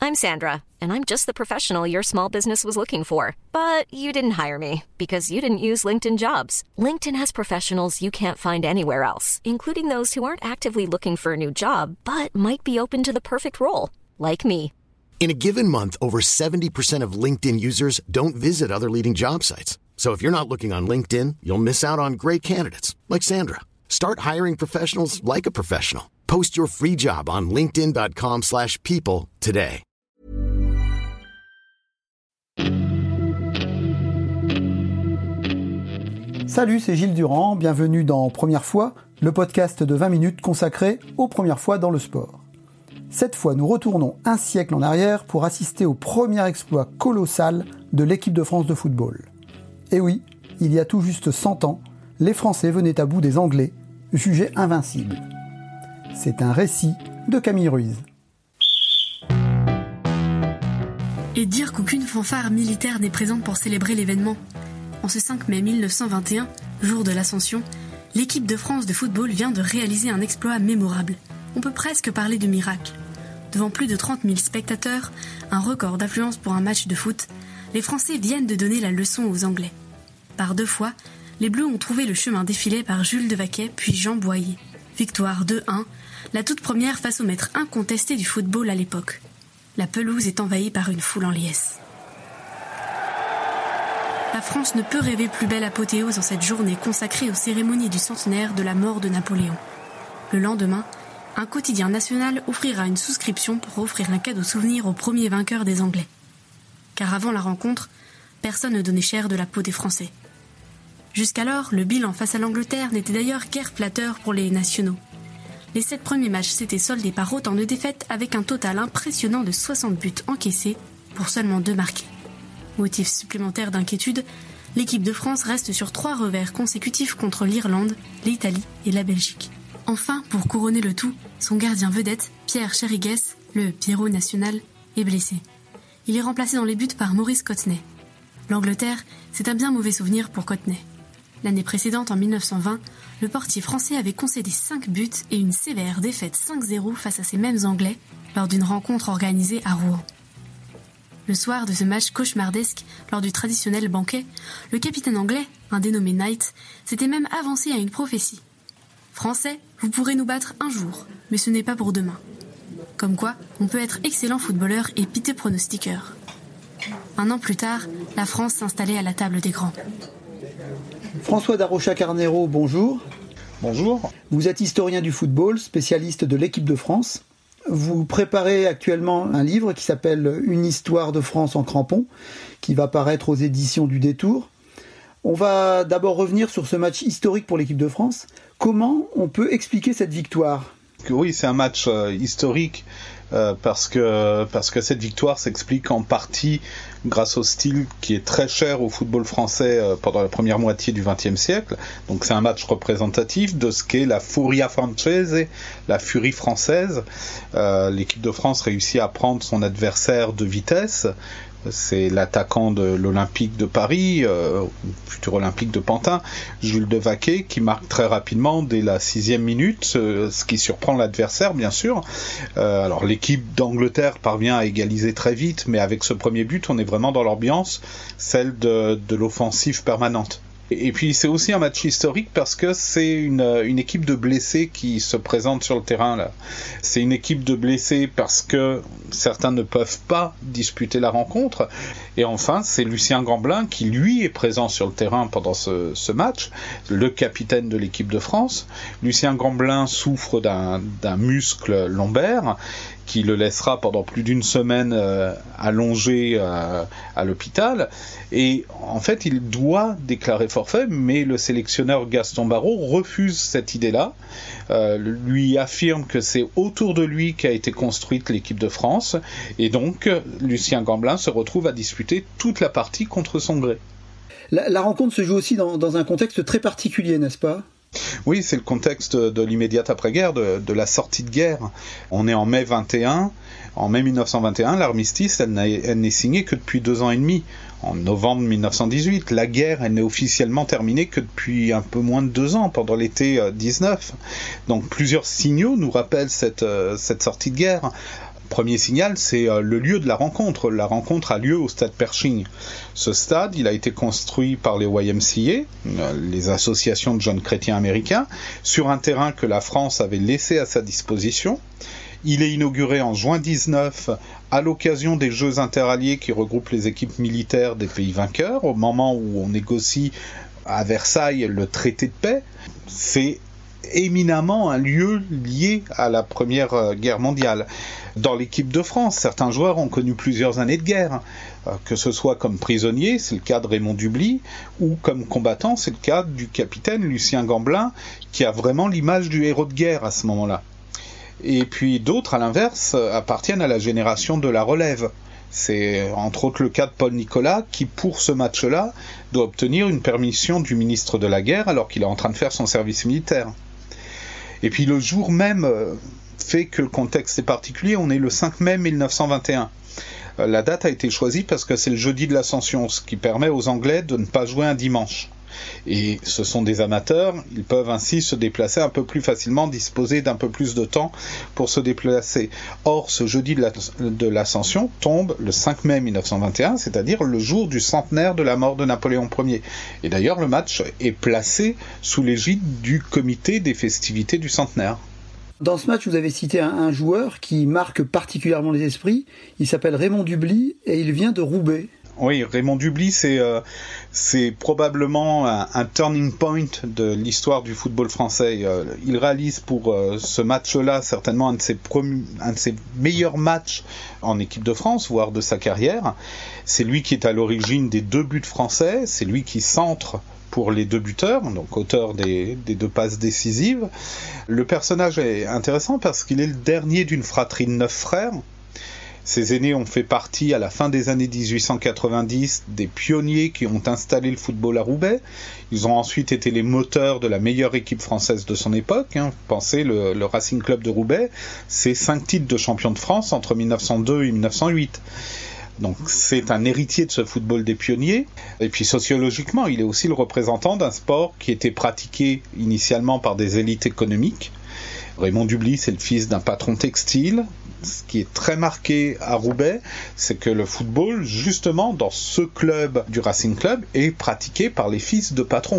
I'm Sandra, and I'm just the professional your small business was looking for. But you didn't hire me because you didn't use LinkedIn Jobs. LinkedIn has professionals you can't find anywhere else, including those who aren't actively looking for a new job, but might be open to the perfect role, like me. In a given month, over 70% of LinkedIn users don't visit other leading job sites. So if you're not looking on LinkedIn, you'll miss out on great candidates like Sandra. Start hiring professionals like a professional. Post your free job on linkedin.com/people today. Salut, c'est Gilles Durand, bienvenue dans Première fois, le podcast de 20 minutes consacré aux premières fois dans le sport. Cette fois, nous retournons un siècle en arrière pour assister au premier exploit colossal de l'équipe de France de football. Et oui, il y a tout juste 100 ans, les Français venaient à bout des Anglais, jugés invincibles. C'est un récit de Camille Ruiz. Et dire qu'aucune fanfare militaire n'est présente pour célébrer l'événement. En ce 5 mai 1921, jour de l'Ascension, l'équipe de France de football vient de réaliser un exploit mémorable. On peut presque parler de miracle. Devant plus de 30 000 spectateurs, un record d'affluence pour un match de foot, les Français viennent de donner la leçon aux Anglais. Par 2 fois, les Bleus ont trouvé le chemin défilé par Jules Devaquet puis Jean Boyer. Victoire 2-1, la toute première face au maître incontesté du football à l'époque. La pelouse est envahie par une foule en liesse. La France ne peut rêver plus belle apothéose en cette journée consacrée aux cérémonies du centenaire de la mort de Napoléon. Le lendemain, un quotidien national offrira une souscription pour offrir un cadeau souvenir au premier vainqueur des Anglais. Car avant la rencontre, personne ne donnait cher de la peau des Français. Jusqu'alors, le bilan face à l'Angleterre n'était d'ailleurs guère flatteur pour les nationaux. Les 7 premiers matchs s'étaient soldés par autant de défaites avec un total impressionnant de 60 buts encaissés pour seulement 2 marqués. Motif supplémentaire d'inquiétude, l'équipe de France reste sur 3 revers consécutifs contre l'Irlande, l'Italie et la Belgique. Enfin, pour couronner le tout, son gardien vedette, Pierre Chérigues, le Pierrot national, est blessé. Il est remplacé dans les buts par Maurice Cottenay. L'Angleterre, c'est un bien mauvais souvenir pour Cottenay. L'année précédente, en 1920, le portier français avait concédé 5 buts et une sévère défaite 5-0 face à ces mêmes Anglais lors d'une rencontre organisée à Rouen. Le soir de ce match cauchemardesque, lors du traditionnel banquet, le capitaine anglais, un dénommé Knight, s'était même avancé à une prophétie. « Français, vous pourrez nous battre un jour, mais ce n'est pas pour demain. » Comme quoi, on peut être excellent footballeur et piteux pronostiqueur. 1 an plus tard, la France s'installait à la table des grands. François Darocha-Carnero, bonjour. Bonjour. Vous êtes historien du football, spécialiste de l'équipe de France. Vous préparez actuellement un livre qui s'appelle « Une histoire de France en crampons », qui va paraître aux éditions du Détour. On va d'abord revenir sur ce match historique pour l'équipe de France. Comment on peut expliquer cette victoire ? Oui, c'est un match historique parce que cette victoire s'explique en partie grâce au style qui est très cher au football français pendant la première moitié du XXe siècle. Donc c'est un match représentatif de ce qu'est la Furia Francese, la furie française. L'équipe de France réussit à prendre son adversaire de vitesse. C'est l'attaquant de l'Olympique de Paris, futur Olympique de Pantin, Jules Devaquet, qui marque très rapidement dès la 6e minute, ce qui surprend l'adversaire, bien sûr. Alors l'équipe d'Angleterre parvient à égaliser très vite, mais avec ce premier but, on est vraiment dans l'ambiance, celle de l'offensive permanente. Et puis c'est aussi un match historique parce que c'est une équipe de blessés qui se présente sur le terrain là. C'est une équipe de blessés parce que certains ne peuvent pas disputer la rencontre. Et enfin, c'est Lucien Gamblin qui lui est présent sur le terrain pendant ce match, le capitaine de l'équipe de France. Lucien Gamblin souffre d'un muscle lombaire qui le laissera pendant plus d'1 semaine allongé à l'hôpital. Et en fait, il doit déclarer forfait, mais le sélectionneur Gaston Barreau refuse cette idée-là, lui affirme que c'est autour de lui qu'a été construite l'équipe de France, et donc Lucien Gamblin se retrouve à disputer toute la partie contre son gré. La rencontre se joue aussi dans un contexte très particulier, n'est-ce pas ? Oui, c'est le contexte de l'immédiate après-guerre, de la sortie de guerre. On est en mai 21. En mai 1921, l'armistice, elle n'est signée que depuis 2 ans et demi. En novembre 1918, la guerre, elle n'est officiellement terminée que depuis un peu moins de 2 ans, pendant l'été 19. Donc plusieurs signaux nous rappellent cette sortie de guerre. Premier signal, c'est le lieu de la rencontre. La rencontre a lieu au stade Pershing. Ce stade, il a été construit par les YMCA, les associations de jeunes chrétiens américains, sur un terrain que la France avait laissé à sa disposition. Il est inauguré en juin 19 à l'occasion des Jeux interalliés qui regroupent les équipes militaires des pays vainqueurs, au moment où on négocie à Versailles le traité de paix. C'est éminemment un lieu lié à la Première Guerre mondiale. Dans l'équipe de France, certains joueurs ont connu plusieurs années de guerre, que ce soit comme prisonniers, c'est le cas de Raymond Dubly, ou comme combattant, c'est le cas du capitaine Lucien Gamblin, qui a vraiment l'image du héros de guerre à ce moment-là. Et puis d'autres, à l'inverse, appartiennent à la génération de la relève. C'est entre autres le cas de Paul Nicolas, qui pour ce match-là doit obtenir une permission du ministre de la Guerre alors qu'il est en train de faire son service militaire. Et puis le jour même fait que le contexte est particulier, on est le 5 mai 1921. La date a été choisie parce que c'est le jeudi de l'Ascension, ce qui permet aux Anglais de ne pas jouer un dimanche. Et ce sont des amateurs, ils peuvent ainsi se déplacer un peu plus facilement, disposer d'un peu plus de temps pour se déplacer. Or, ce jeudi de l'Ascension tombe le 5 mai 1921, c'est-à-dire le jour du centenaire de la mort de Napoléon Ier. Et d'ailleurs, le match est placé sous l'égide du comité des festivités du centenaire. Dans ce match, vous avez cité un joueur qui marque particulièrement les esprits. Il s'appelle Raymond Dubly et il vient de Roubaix. Oui, Raymond Dubly, c'est probablement un turning point de l'histoire du football français. Il réalise pour ce match-là certainement un de ses meilleurs matchs en équipe de France, voire de sa carrière. C'est lui qui est à l'origine des 2 buts français, c'est lui qui centre pour les 2 buteurs, donc auteur des 2 passes décisives. Le personnage est intéressant parce qu'il est le dernier d'une fratrie de 9 frères. Ses aînés ont fait partie, à la fin des années 1890, des pionniers qui ont installé le football à Roubaix. Ils ont ensuite été les moteurs de la meilleure équipe française de son époque. Pensez, le Racing Club de Roubaix, c'est 5 titres de champion de France entre 1902 et 1908. Donc c'est un héritier de ce football des pionniers. Et puis sociologiquement, il est aussi le représentant d'un sport qui était pratiqué initialement par des élites économiques. Raymond Dubly, c'est le fils d'un patron textile. Ce qui est très marqué à Roubaix, c'est que le football, justement, dans ce club du Racing Club, est pratiqué par les fils de patrons.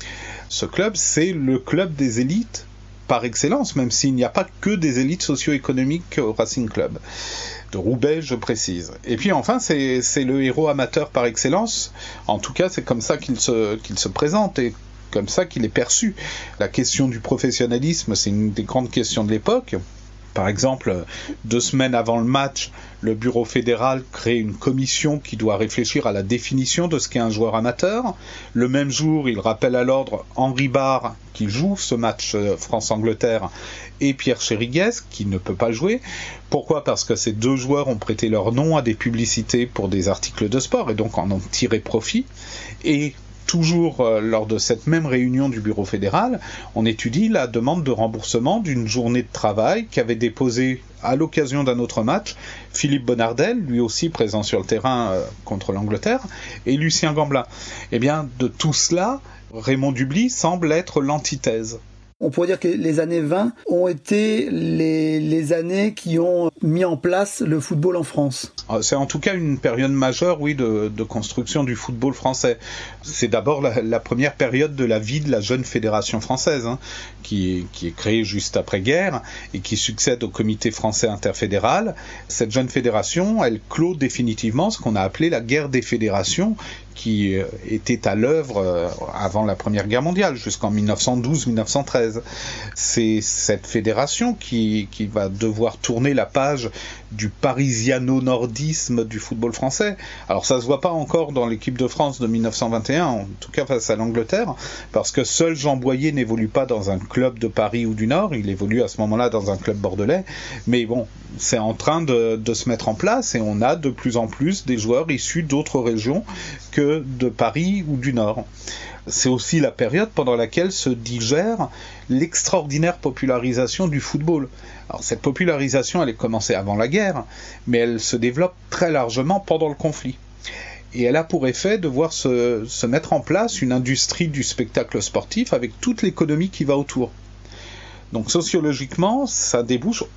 Ce club, c'est le club des élites par excellence, même s'il n'y a pas que des élites socio-économiques au Racing Club. De Roubaix, je précise. Et puis enfin, c'est le héros amateur par excellence. En tout cas, c'est comme ça qu'il se présente et comme ça qu'il est perçu. La question du professionnalisme, c'est une des grandes questions de l'époque. Par exemple, 2 semaines avant le match, le bureau fédéral crée une commission qui doit réfléchir à la définition de ce qu'est un joueur amateur. Le même jour, il rappelle à l'ordre Henri Barre, qui joue ce match France-Angleterre, et Pierre Chériguez, qui ne peut pas jouer. Pourquoi ? Parce que ces 2 joueurs ont prêté leur nom à des publicités pour des articles de sport, et donc en ont tiré profit. Et toujours lors de cette même réunion du bureau fédéral, on étudie la demande de remboursement d'une journée de travail qu'avait déposée à l'occasion d'un autre match Philippe Bonnardel, lui aussi présent sur le terrain contre l'Angleterre, et Lucien Gamblin. Eh bien, de tout cela, Raymond Dubly semble être l'antithèse. On pourrait dire que les années 20 ont été les années qui ont mis en place le football en France. C'est en tout cas une période majeure, oui, de construction du football français. C'est d'abord la première période de la vie de la jeune fédération française, qui est créée juste après-guerre et qui succède au comité français interfédéral. Cette jeune fédération, elle clôt définitivement ce qu'on a appelé la guerre des fédérations, qui était à l'œuvre avant la Première Guerre mondiale, jusqu'en 1912-1913. C'est cette fédération qui va devoir tourner la page du parisiano-nordisme du football français. Alors ça se voit pas encore dans l'équipe de France de 1921, en tout cas face à l'Angleterre, parce que seul Jean Boyer n'évolue pas dans un club de Paris ou du Nord, il évolue à ce moment-là dans un club bordelais, mais bon, c'est en train de se mettre en place et on a de plus en plus des joueurs issus d'autres régions que de Paris ou du Nord. C'est aussi la période pendant laquelle se digère l'extraordinaire popularisation du football. Alors cette popularisation, elle est commencée avant la guerre, mais elle se développe très largement pendant le conflit. Et elle a pour effet de voir se mettre en place une industrie du spectacle sportif avec toute l'économie qui va autour. Donc sociologiquement, ça débouche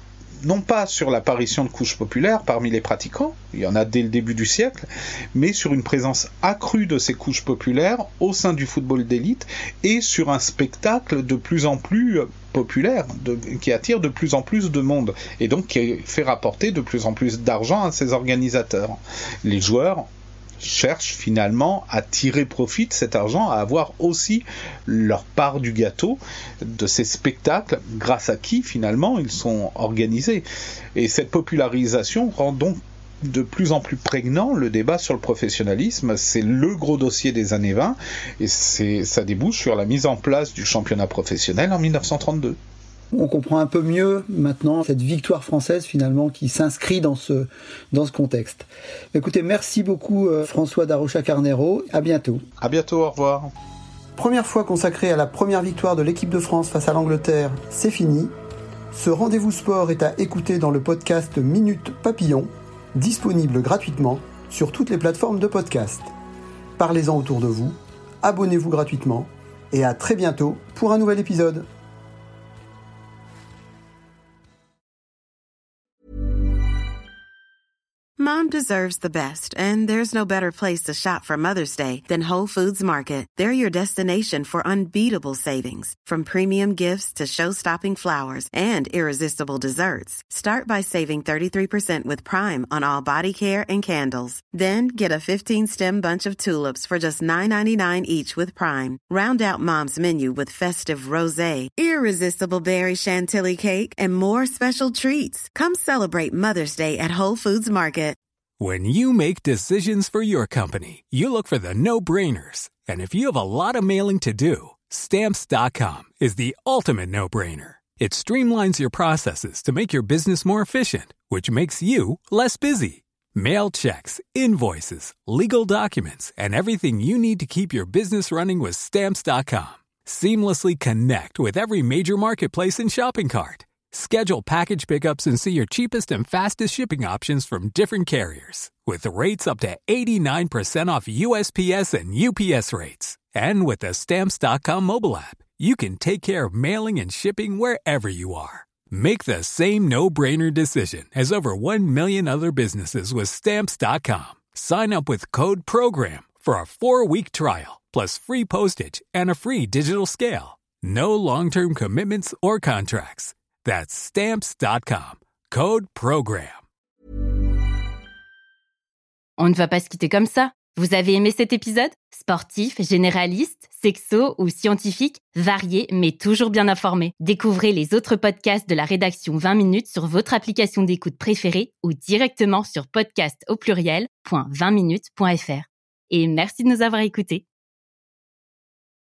non pas sur l'apparition de couches populaires parmi les pratiquants, il y en a dès le début du siècle, mais sur une présence accrue de ces couches populaires au sein du football d'élite et sur un spectacle de plus en plus populaire, qui attire de plus en plus de monde et donc qui fait rapporter de plus en plus d'argent à ses organisateurs. Les joueurs cherchent finalement à tirer profit de cet argent, à avoir aussi leur part du gâteau de ces spectacles, grâce à qui finalement ils sont organisés. Et cette popularisation rend donc de plus en plus prégnant le débat sur le professionnalisme. C'est le gros dossier des années 20 et ça débouche sur la mise en place du championnat professionnel en 1932. On comprend un peu mieux maintenant cette victoire française finalement qui s'inscrit dans ce contexte. Écoutez, merci beaucoup François Darocha-Carneiro. À bientôt. À bientôt, au revoir. Première fois consacrée à la première victoire de l'équipe de France face à l'Angleterre, c'est fini. Ce rendez-vous sport est à écouter dans le podcast Minute Papillon, disponible gratuitement sur toutes les plateformes de podcast. Parlez-en autour de vous, abonnez-vous gratuitement et à très bientôt pour un nouvel épisode. Mom deserves the best, and there's no better place to shop for Mother's Day than Whole Foods Market. They're your destination for unbeatable savings, from premium gifts to show-stopping flowers and irresistible desserts. Start by saving 33% with Prime on all body care and candles. Then get a 15-stem bunch of tulips for just $9.99 each with Prime. Round out Mom's menu with festive rosé, irresistible berry chantilly cake, and more special treats. Come celebrate Mother's Day at Whole Foods Market. When you make decisions for your company, you look for the no-brainers. And if you have a lot of mailing to do, Stamps.com is the ultimate no-brainer. It streamlines your processes to make your business more efficient, which makes you less busy. Mail checks, invoices, legal documents, and everything you need to keep your business running with Stamps.com. Seamlessly connect with every major marketplace and shopping cart. Schedule package pickups and see your cheapest and fastest shipping options from different carriers, with rates up to 89% off USPS and UPS rates. And with the Stamps.com mobile app, you can take care of mailing and shipping wherever you are. Make the same no-brainer decision as over 1 million other businesses with Stamps.com. Sign up with code PROGRAM for a 4-week trial, plus free postage and a free digital scale. No long-term commitments or contracts. That's Stamps.com. Code PROGRAM. On ne va pas se quitter comme ça. Vous avez aimé cet épisode ? Sportif, généraliste, sexo ou scientifique, varié mais toujours bien informé. Découvrez les autres podcasts de la rédaction 20 minutes sur votre application d'écoute préférée ou directement sur podcast@20minutes.fr. Et merci de nous avoir écoutés.